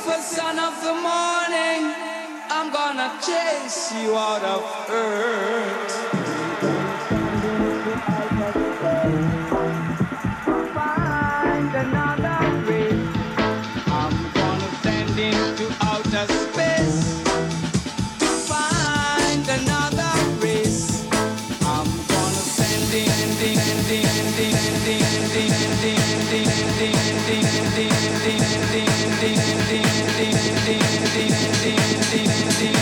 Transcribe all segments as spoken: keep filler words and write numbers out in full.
Lucifer, son of the morning, I'm gonna chase you out of earth. Find another race. I'm gonna send into outer space to find another race. I'm gonna send in, sending, sending, sending, sending, sending, sending, sending, sending, sending, sending, sending, sending, sending, sending, sending, sending, sending,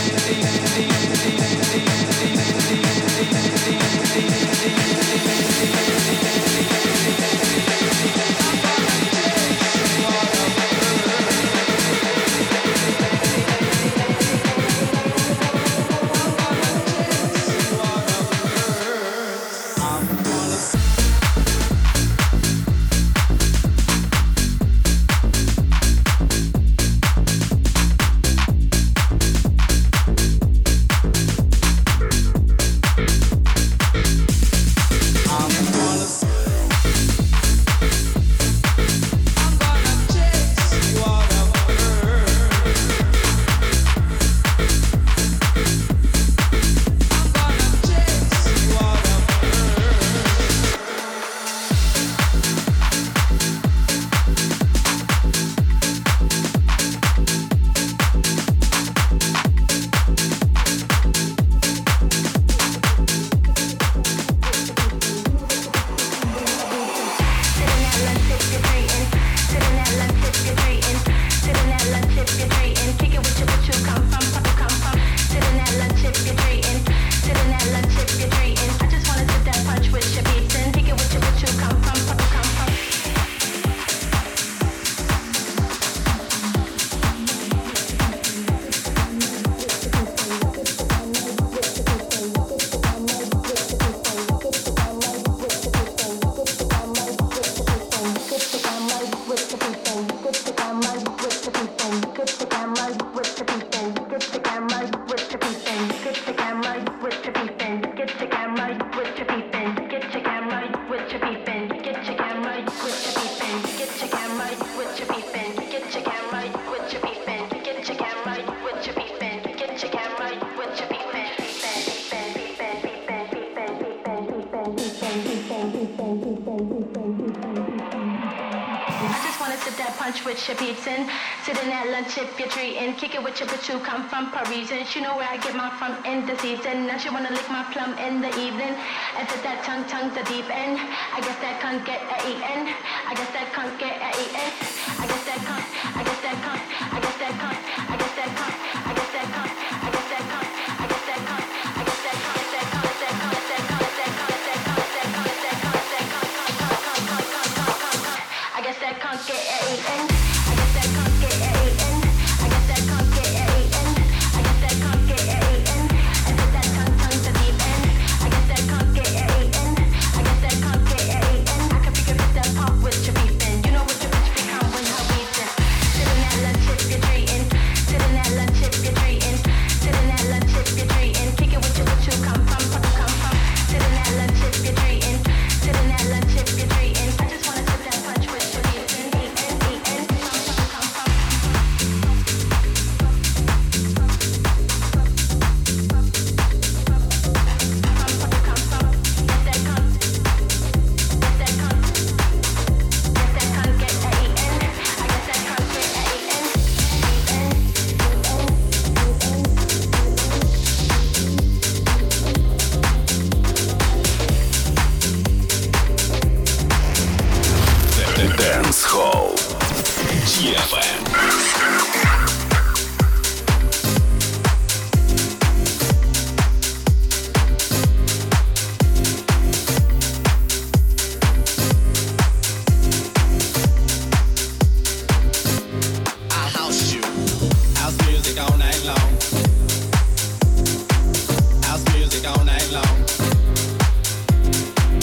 You know where I get my from in the season. Now she wanna lick my plum in the evening. And put that tongue, tongue the deep end. I guess that can't get a eaten. I guess that can't get a eaten. I guess that can't. I guess that can't. I guess that can't. I guess that can't. I guess that can't. I guess that can't. I guess that can't. I guess that can't. That can't. That can't. That can't. That can't. That can't. That can't. I guess that can't get a eaten. I guess that can't get a eaten. I guess that can't get a eaten. I guess that can't get a eaten. And put that tongue, tongue to deep end. I guess that can't get a eaten. I guess that can't get a eaten. I can figure it that pop with your beefing. You know what your bitch become when her weaving. Sitting at lunch if you're treating. Sitting at lunch if you're treating. Sitting at lunch if you're treating. Kick it with you, what you come from, where you come from. Sitting at lunch if you're treating. Sitting at lunch if you're treating. I just wanna sip that punch with your beefing. Eating, eating. Come from, come from. Dance Hall ди эф эм.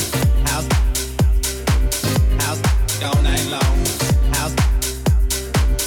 All night long. House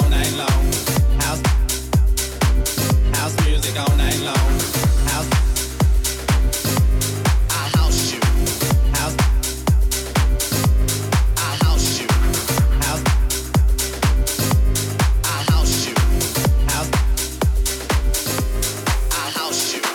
all night long. House, house music all night long. House, I house you. House, I house you. House, I house you. House, I house you.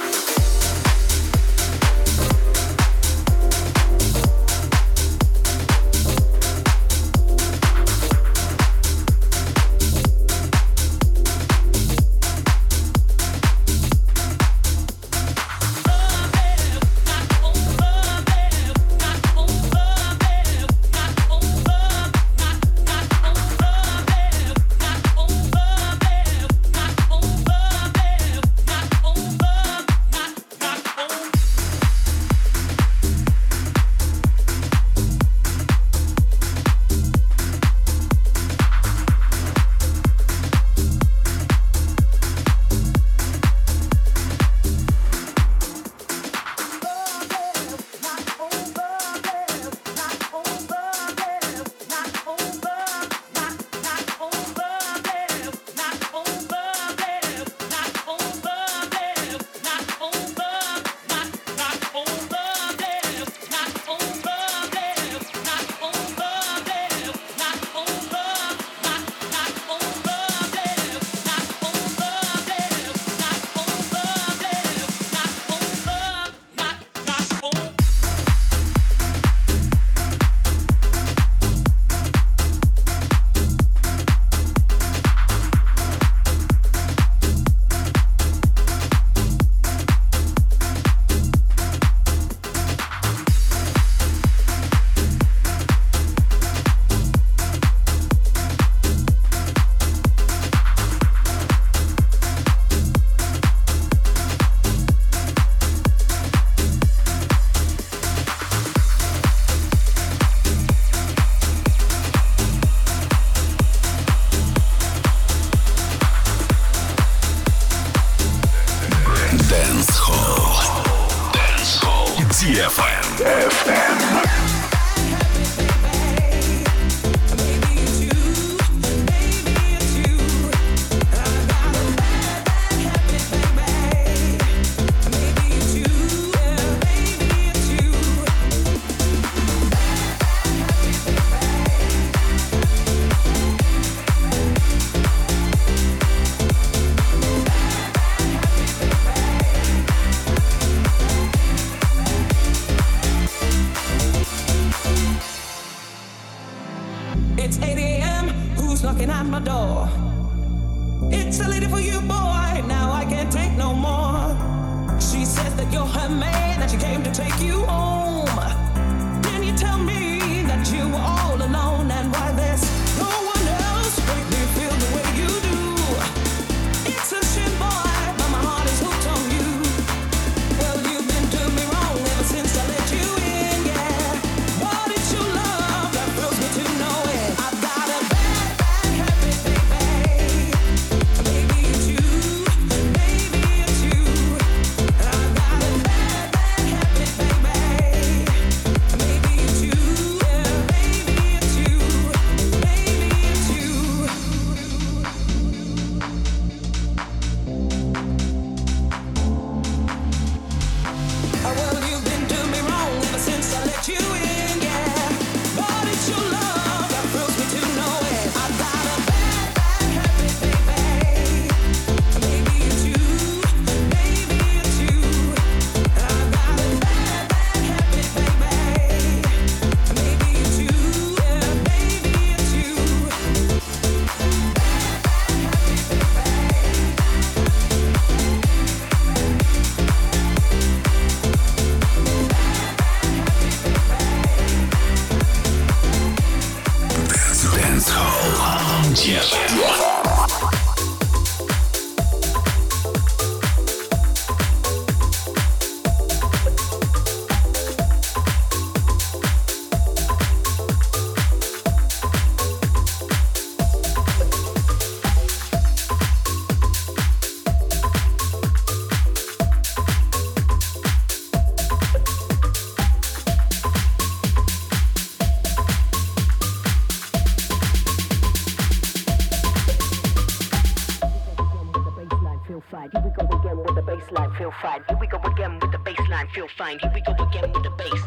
fine. Here we go again with the baseline, feel fine. Here we go again with the baseline, feel fine. Here we go again with the bass.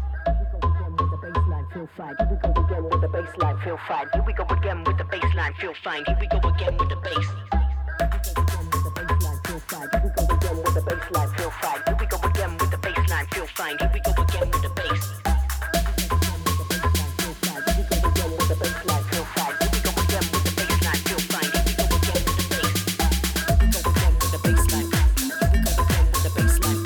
Feel fine. Here we go again with the baseline. Feel fine. Here we go again with the baseline. Feel fine. Here we go again with the bass. Feel fine. Here we go again with the baseline. Feel fine. Here we go again with the baseline. Feel fine. Here we go again with the bass. Feel fine. Here we go again with the baseline. Feel fine. Here we go again with the baseline. Feel fine. Here we go again with the bass. Here we go again with the baseline. Here we go again with the baseline.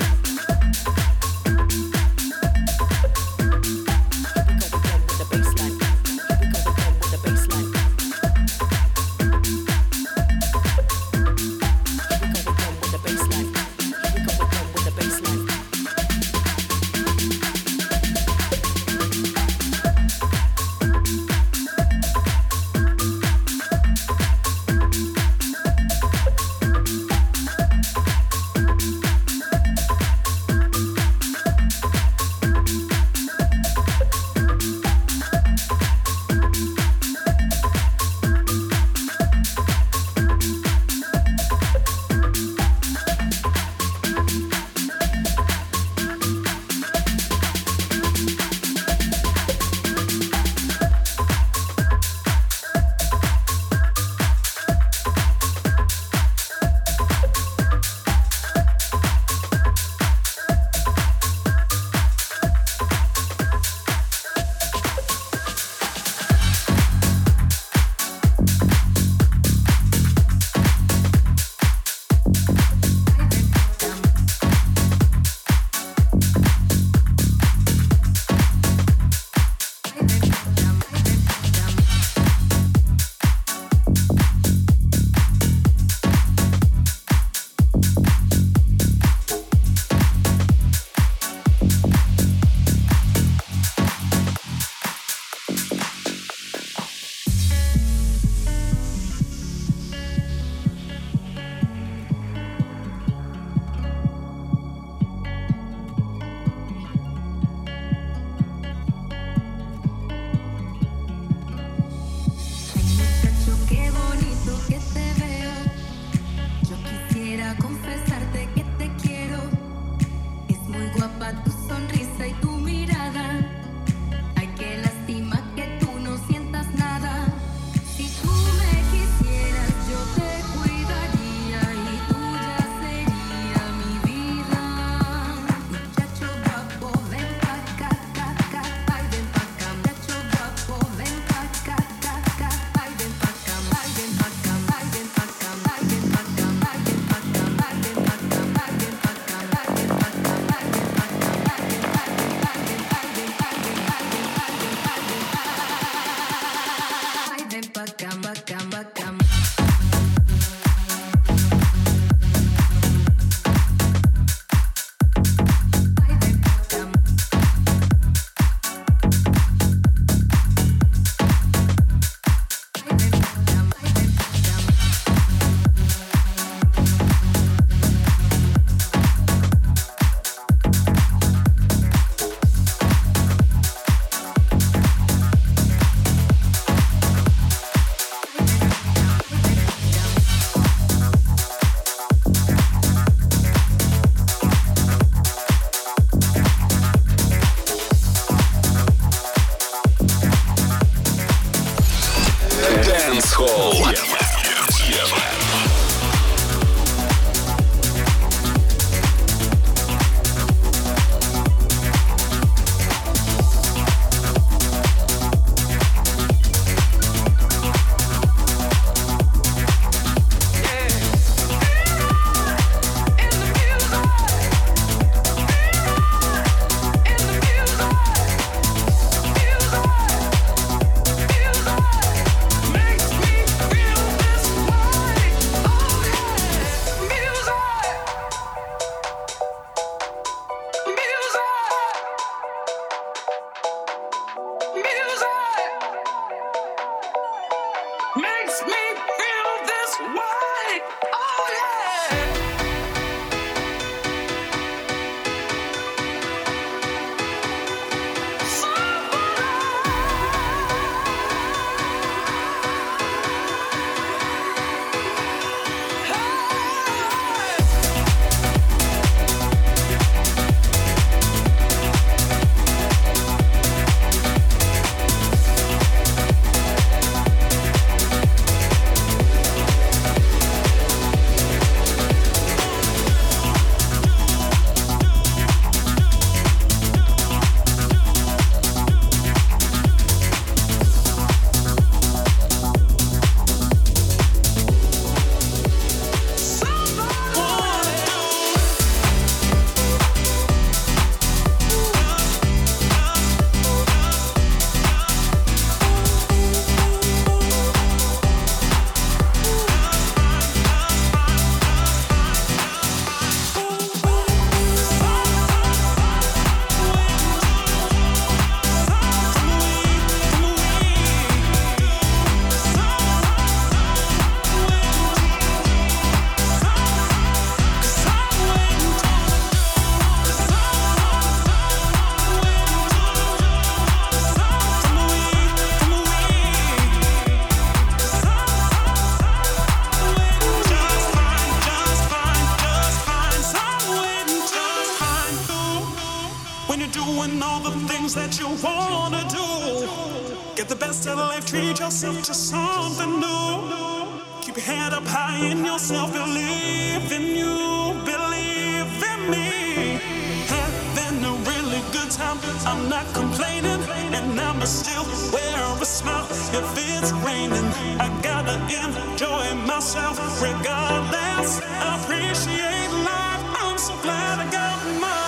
wanna do. Get the best out of life, treat yourself to something new. Keep your head up high in yourself, believe in you, believe in me. Having a really good time, I'm not complaining, and I'ma still wear a smile if it's raining. I gotta enjoy myself regardless. I appreciate life, I'm so glad I got mine.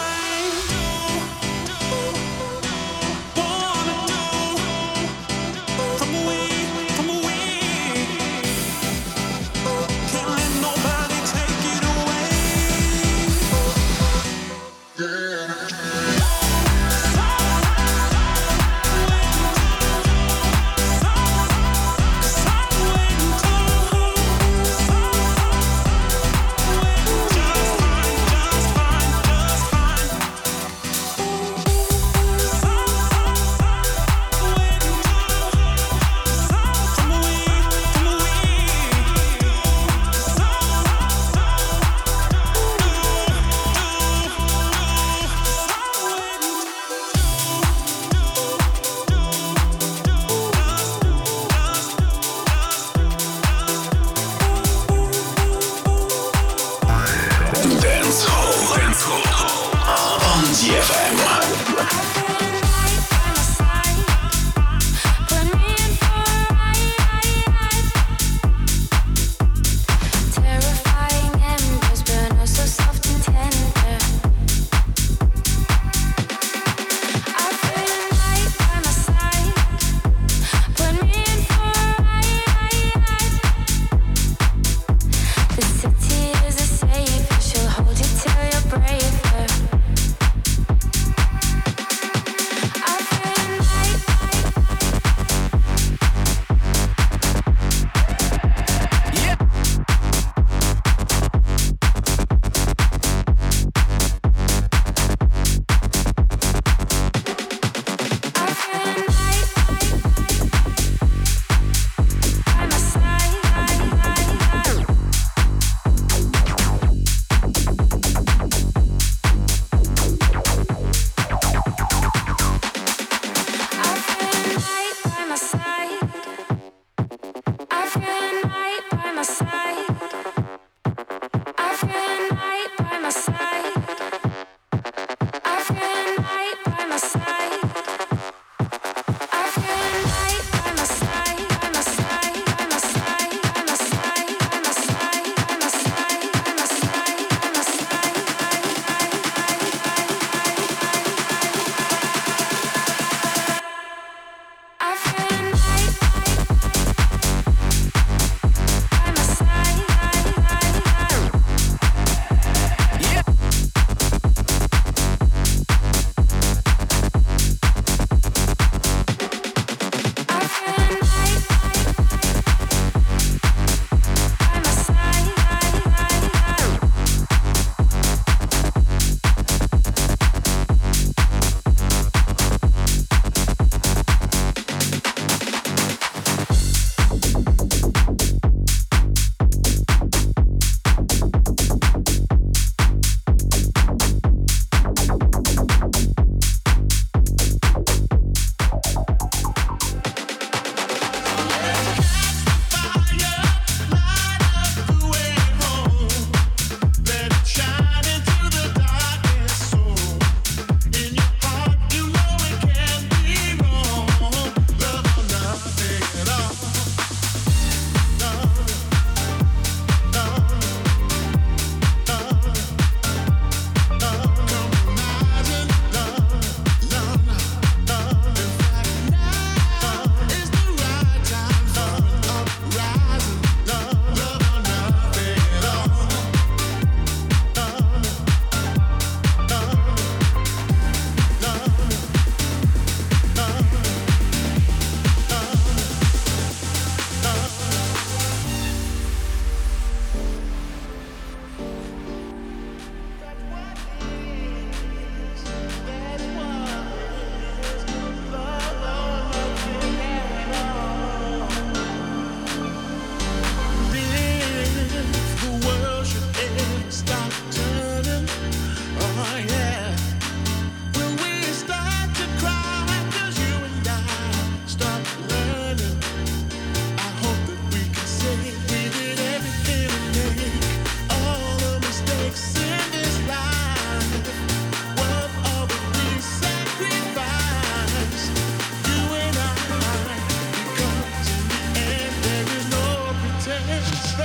She'll hold you till you're braver.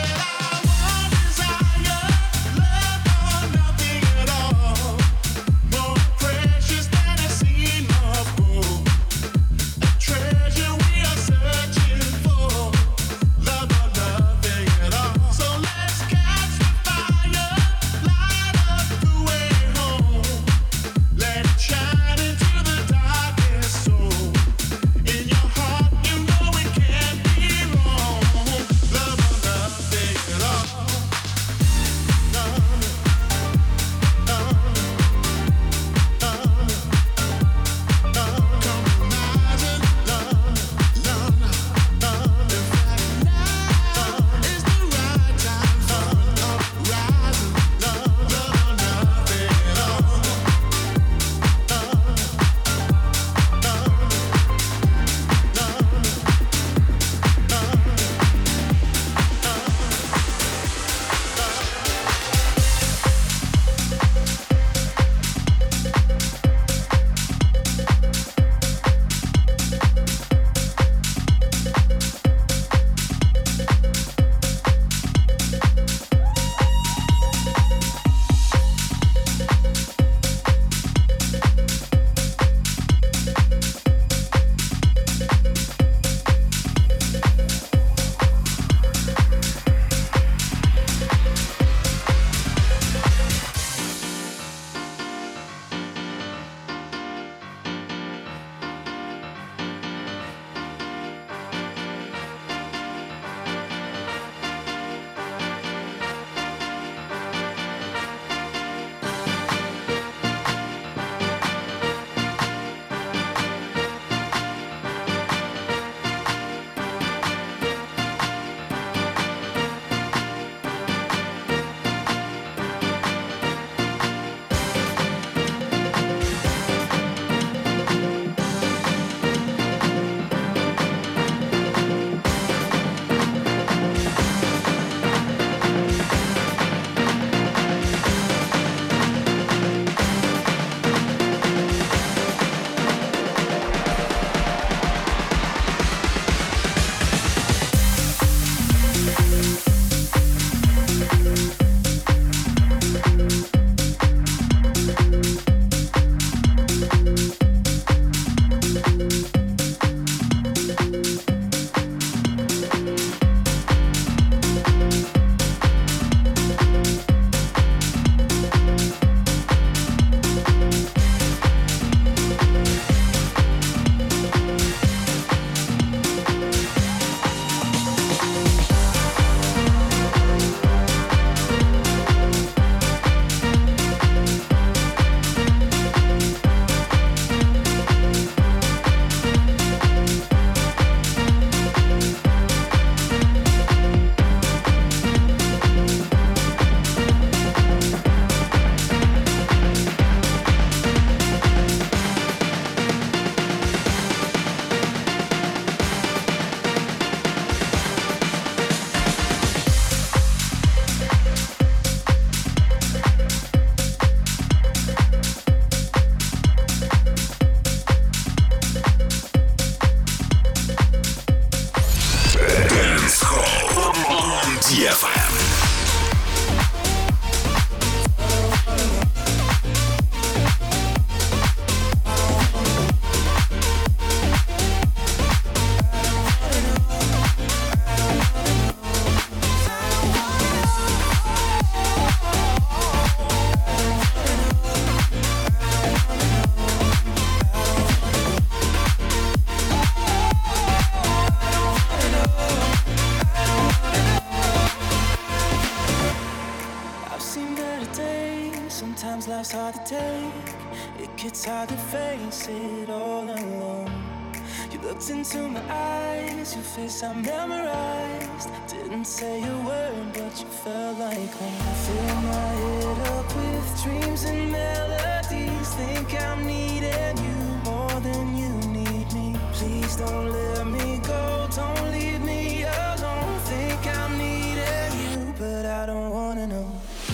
life's hard to take. It gets hard to face it all alone. You looked into my eyes, your face I memorized. Didn't say a word, but you felt like home. Fill my head up with dreams and melodies. Think I'm needing you more than you need me. Please don't let me go, don't leave me alone. Think I'm needing you, but I don't wanna know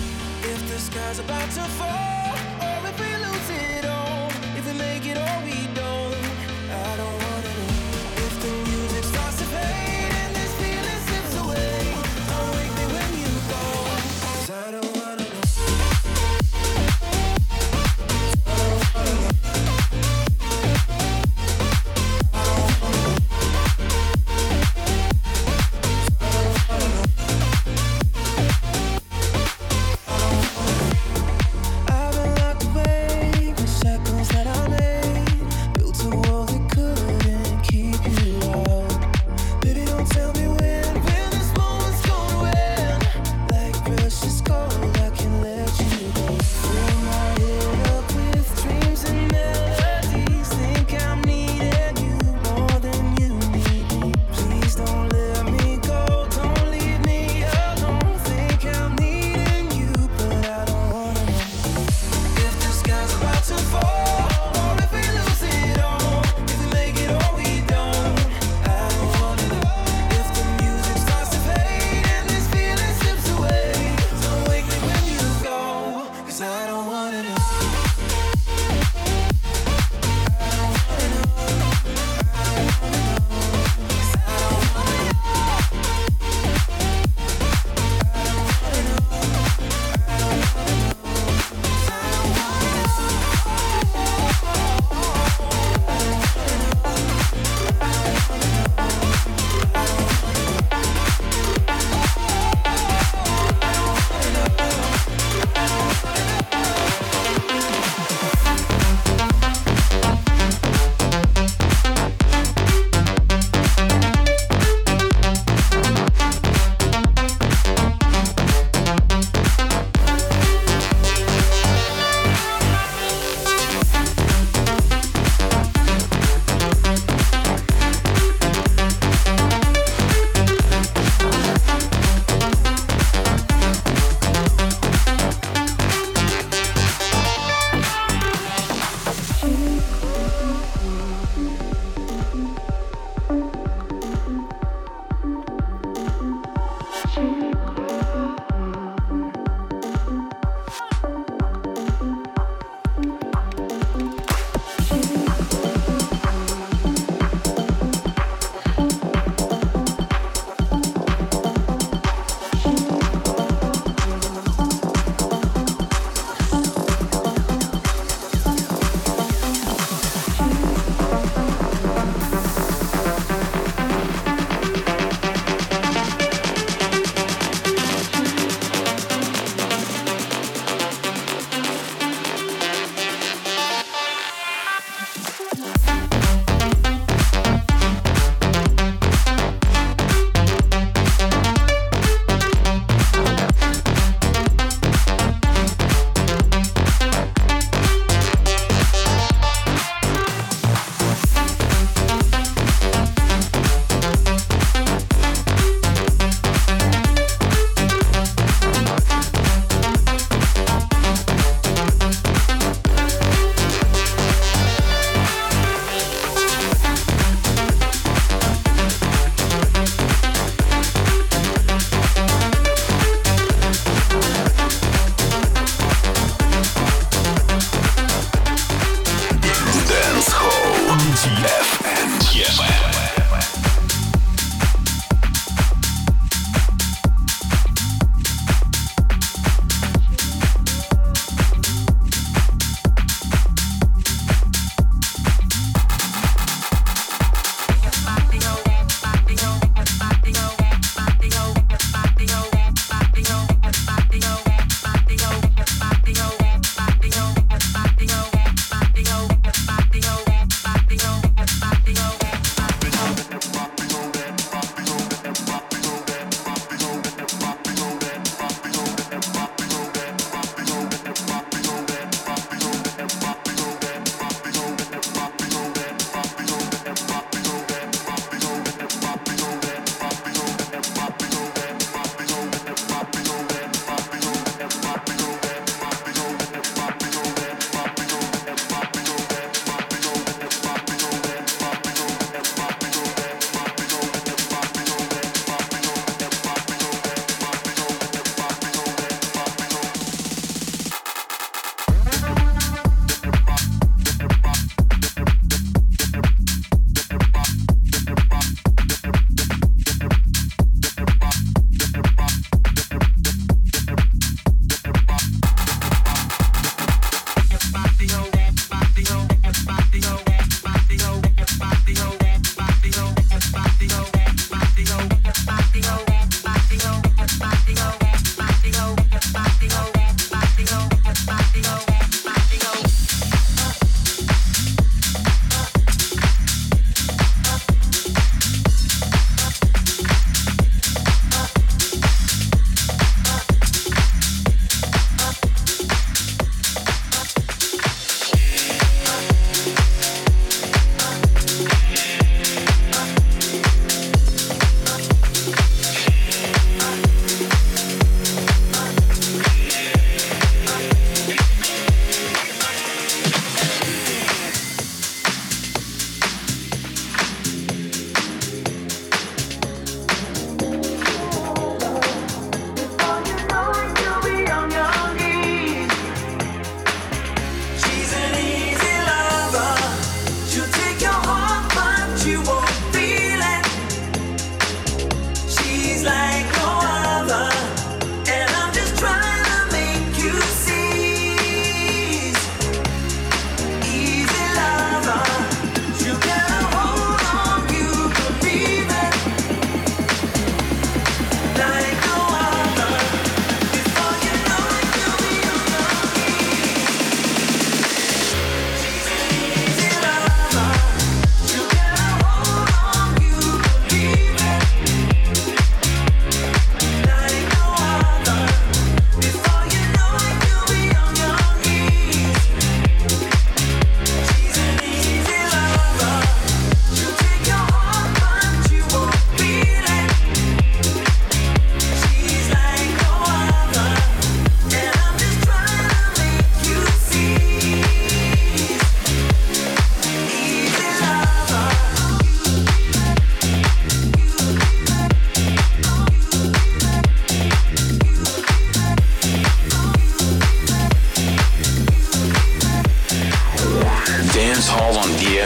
if the sky's about to fall, or if we lose it all, if we make it or we don't. I don't wanna know if the music starts to fade and this feeling slips away. Don't wake me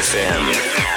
эф эм.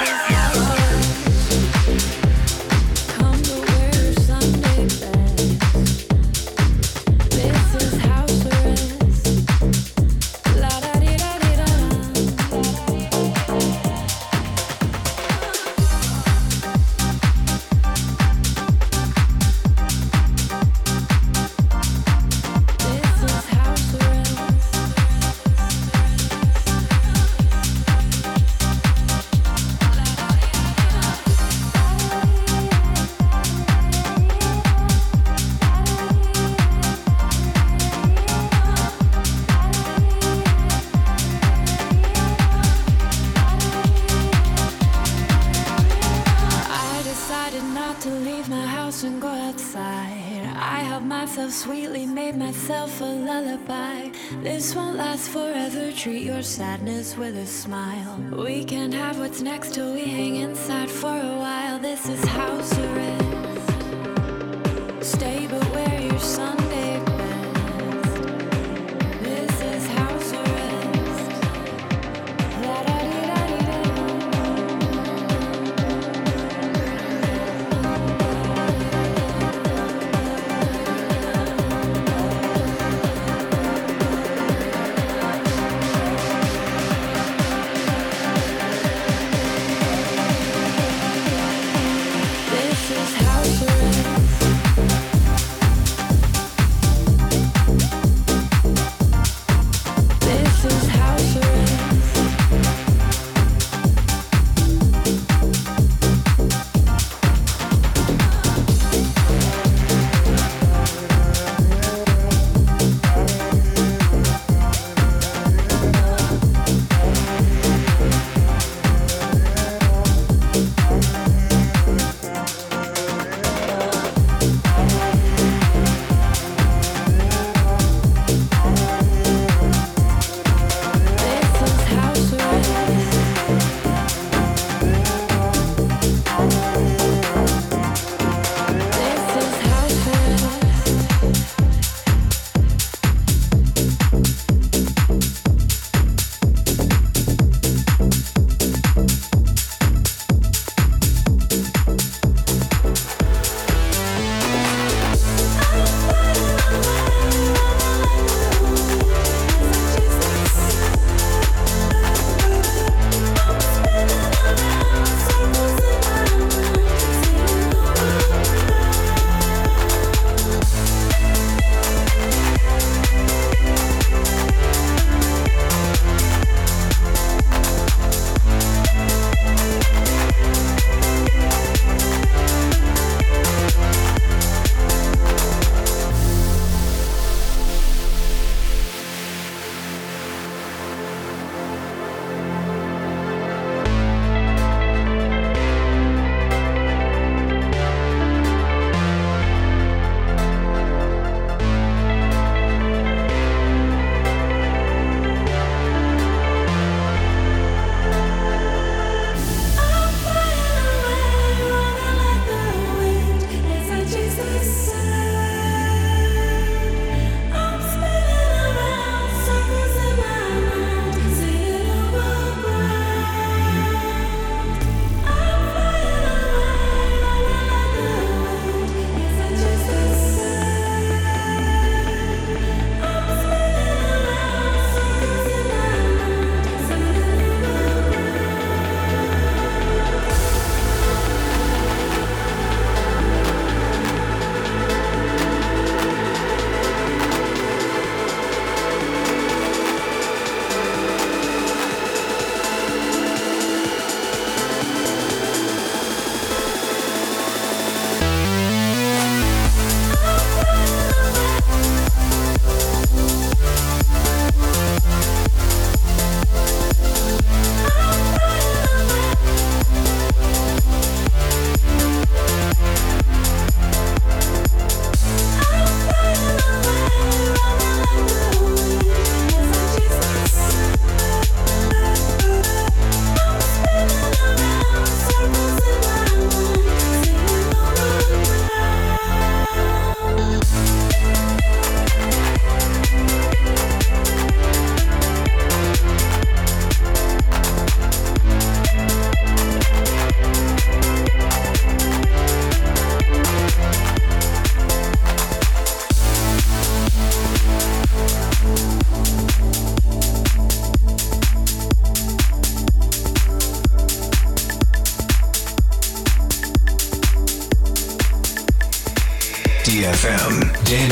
Sadness with a smile. We can have what's next till we hang inside for a while. This is house arrest. Stay but wear your Sunday best. This is house arrest. La da di da di da. This is house arrest.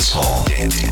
Dance Hall.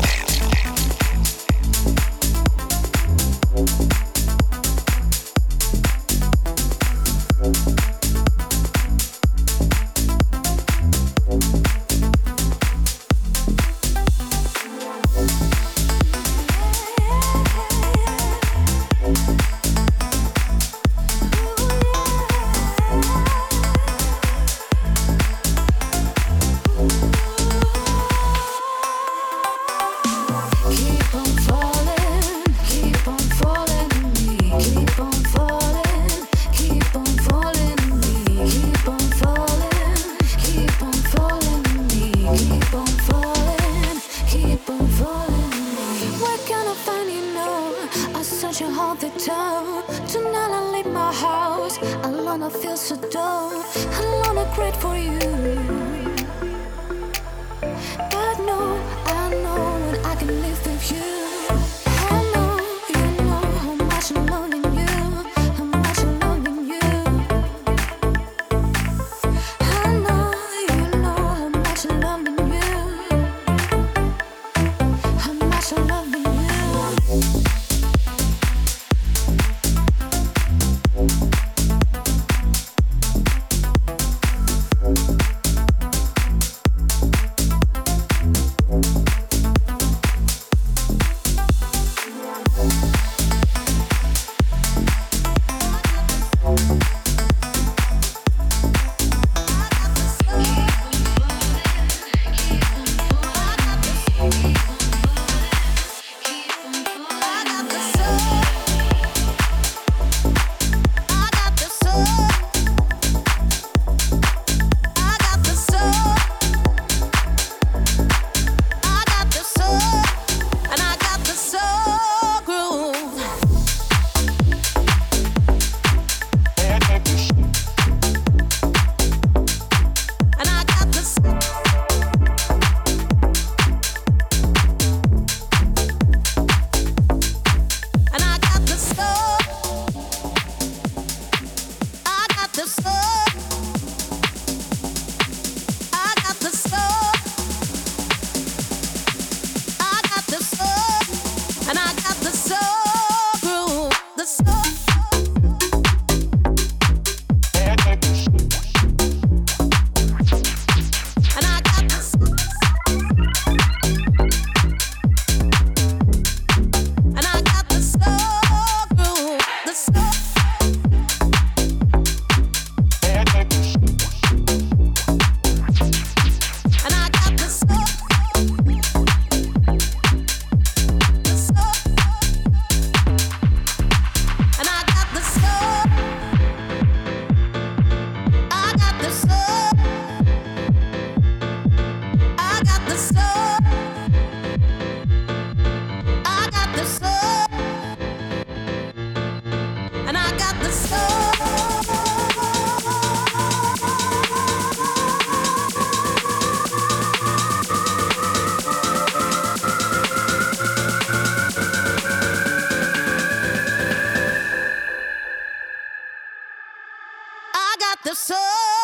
the soul,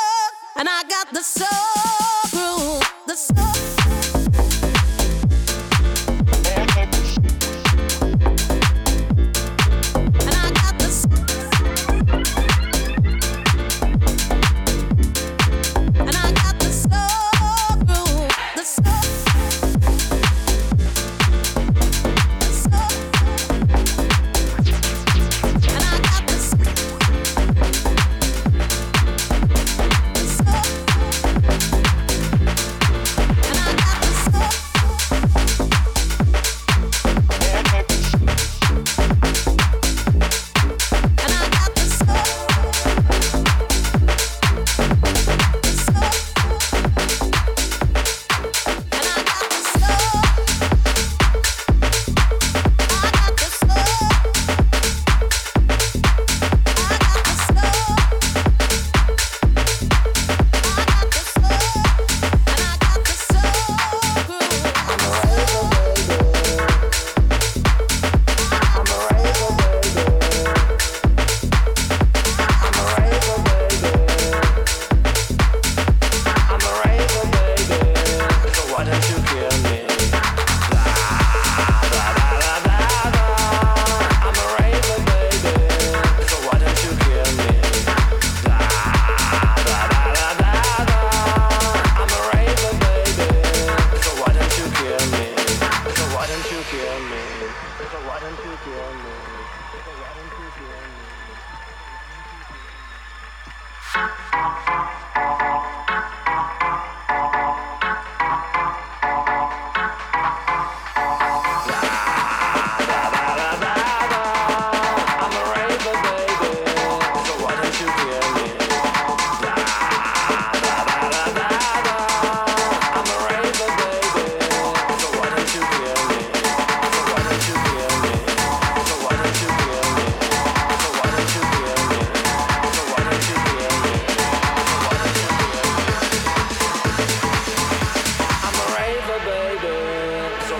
and I got the soul groove, the soul.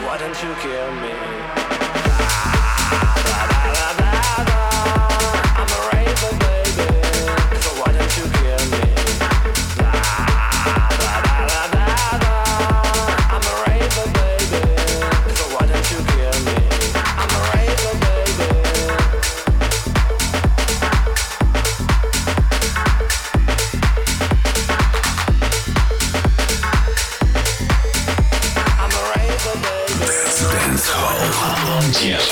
why don't you kill me? I'm a raver, baby, so why don't you kill me? I'm a raver, baby, so why don't you kill me? I'm a raver, baby. I'm a raver, baby. Dance Hall.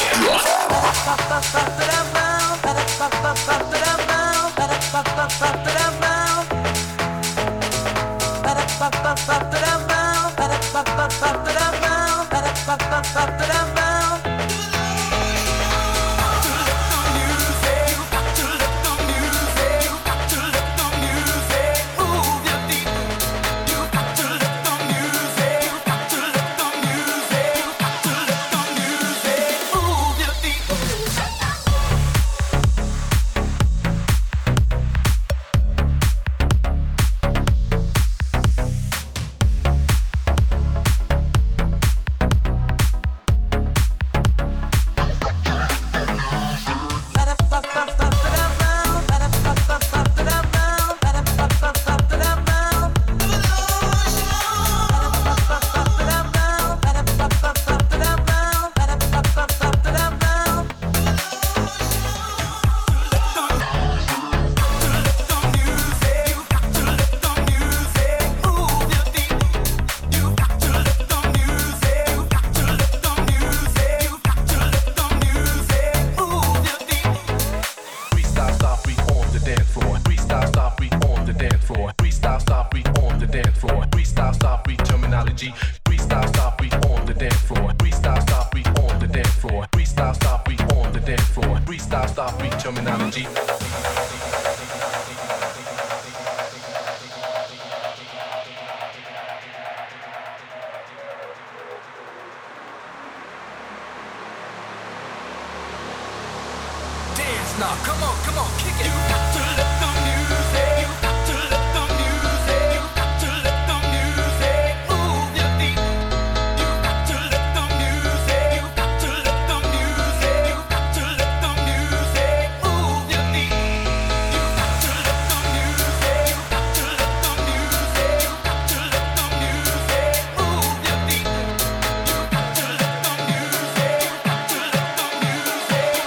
Now, come on, come on, kick it. You got to let the music, you got to let the music, you got to let the music move your feet. You got to let the music, you got to let the music, you got to let the music move your feet. You got to let the music, you got to let the music, you got to let the music move your feet. You got to let the music, you got to let the music, you got to let the music.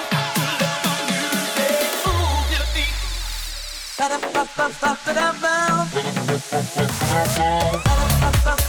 Ba-da-ba-ba-ba-ba-da-ba. Ba-da-ba-ba-ba-ba-da-ba.